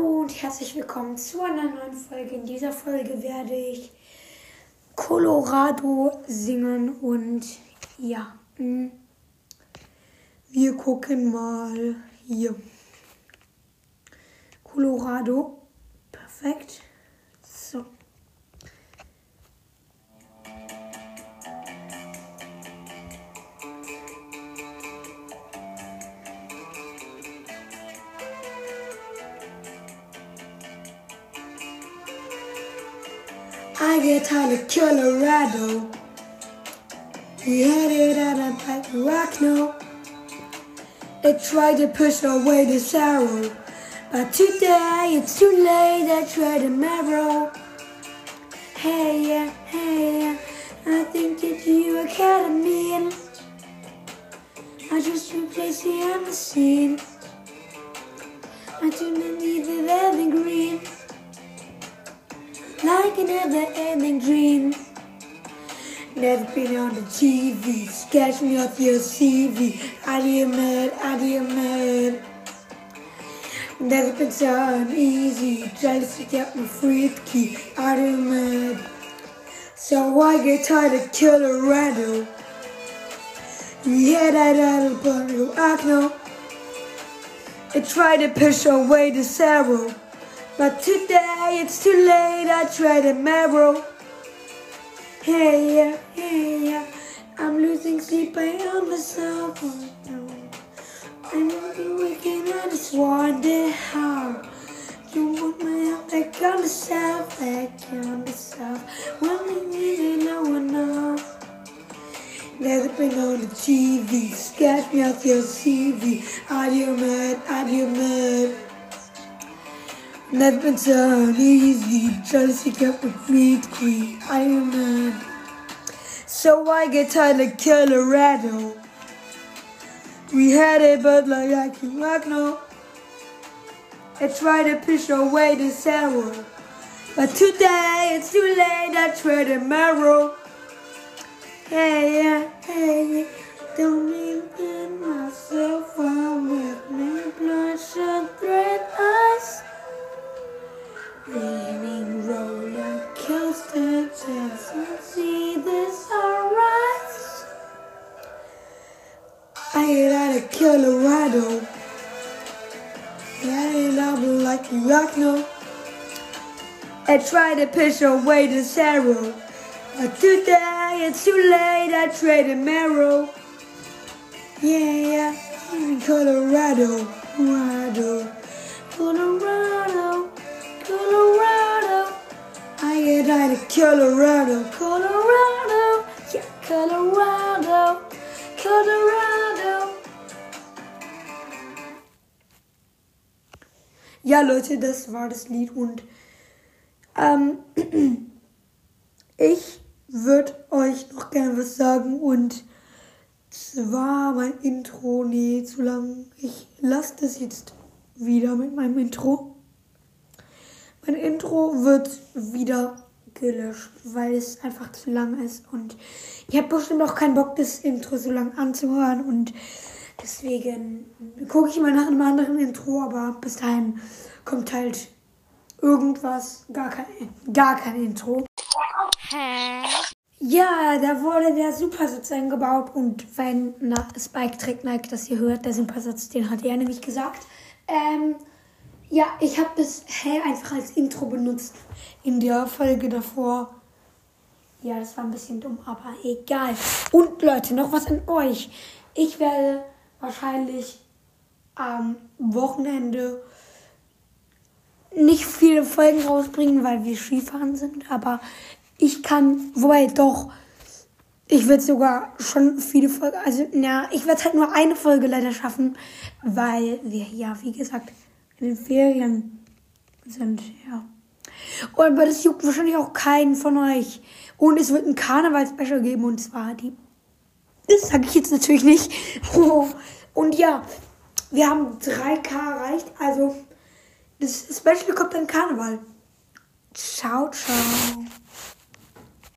Hallo und herzlich willkommen zu einer neuen Folge. In dieser Folge werde ich Colorado singen und ja, wir gucken mal hier. Colorado, perfekt. So. I get tired of Colorado. We headed out of like rock now. I tried to push away the sorrow, but today it's too late. I tried to marrow. Hey yeah, I think that you are kind of mean. I just replaced the on the scene. I do not need the evergreen. Like a never-ending dream. Never been on the TV. Sketch me off your CV. Are you mad? Never been so uneasy. Trying to stick out my free key. Are you mad? So I get tired of Colorado. Yeah, that other bundle. I know. I try to push away the sorrow. But today it's too late, I tried to marrow. Hey yeah, I'm losing sleep, I am myself. I'm waking, I just wonder how. You want my help back on myself, when we needed no one else. Never been on the TV, sketch me off your CV. Are you mad? Never been so easy, trying to seek out the free queen. I am mad. So I get tired of Colorado. We had it, but like I can rock no. I try to push away the sorrow, but today it's too late. I try to marrow. Hey yeah, don't even myself. I'm with me, bloodshot red eyes. Leaning roller coaster, just see this sunrise. I get out of Colorado. I love like you rock no. I try to push away the sorrow, but today it's too late. I trade a marrow. Yeah, in Colorado. I get out of Colorado. Yeah, Colorado. Ja, Leute, das war das Lied und ich würde euch noch gerne was sagen und zwar mein Intro, zu lang. Ich lasse das jetzt wieder mit meinem Intro. Mein Intro wird wieder gelöscht, weil es einfach zu lang ist und ich habe bestimmt auch keinen Bock, das Intro so lang anzuhören und deswegen gucke ich mal nach einem anderen Intro, aber bis dahin kommt halt irgendwas, gar kein Intro. Ja, da wurde der Supersatz eingebaut und wenn Spike trägt Nike, das ihr hört, der Supersatz, den hat er nämlich gesagt. Ja, ich habe das einfach als Intro benutzt in der Folge davor. Ja, das war ein bisschen dumm, aber egal. Und Leute, noch was an euch. Ich werde wahrscheinlich am Wochenende nicht viele Folgen rausbringen, weil wir Skifahren sind. Aber ich werde sogar schon viele Folgen, ich werde halt nur eine Folge leider schaffen, weil wir, ja, wie gesagt, in den Ferien sind, ja. Und aber das juckt wahrscheinlich auch keinen von euch. Und es wird ein Karneval-Special geben und zwar das sage ich jetzt natürlich nicht. Und ja, wir haben 3K erreicht, also das Special kommt dann Karneval. Ciao.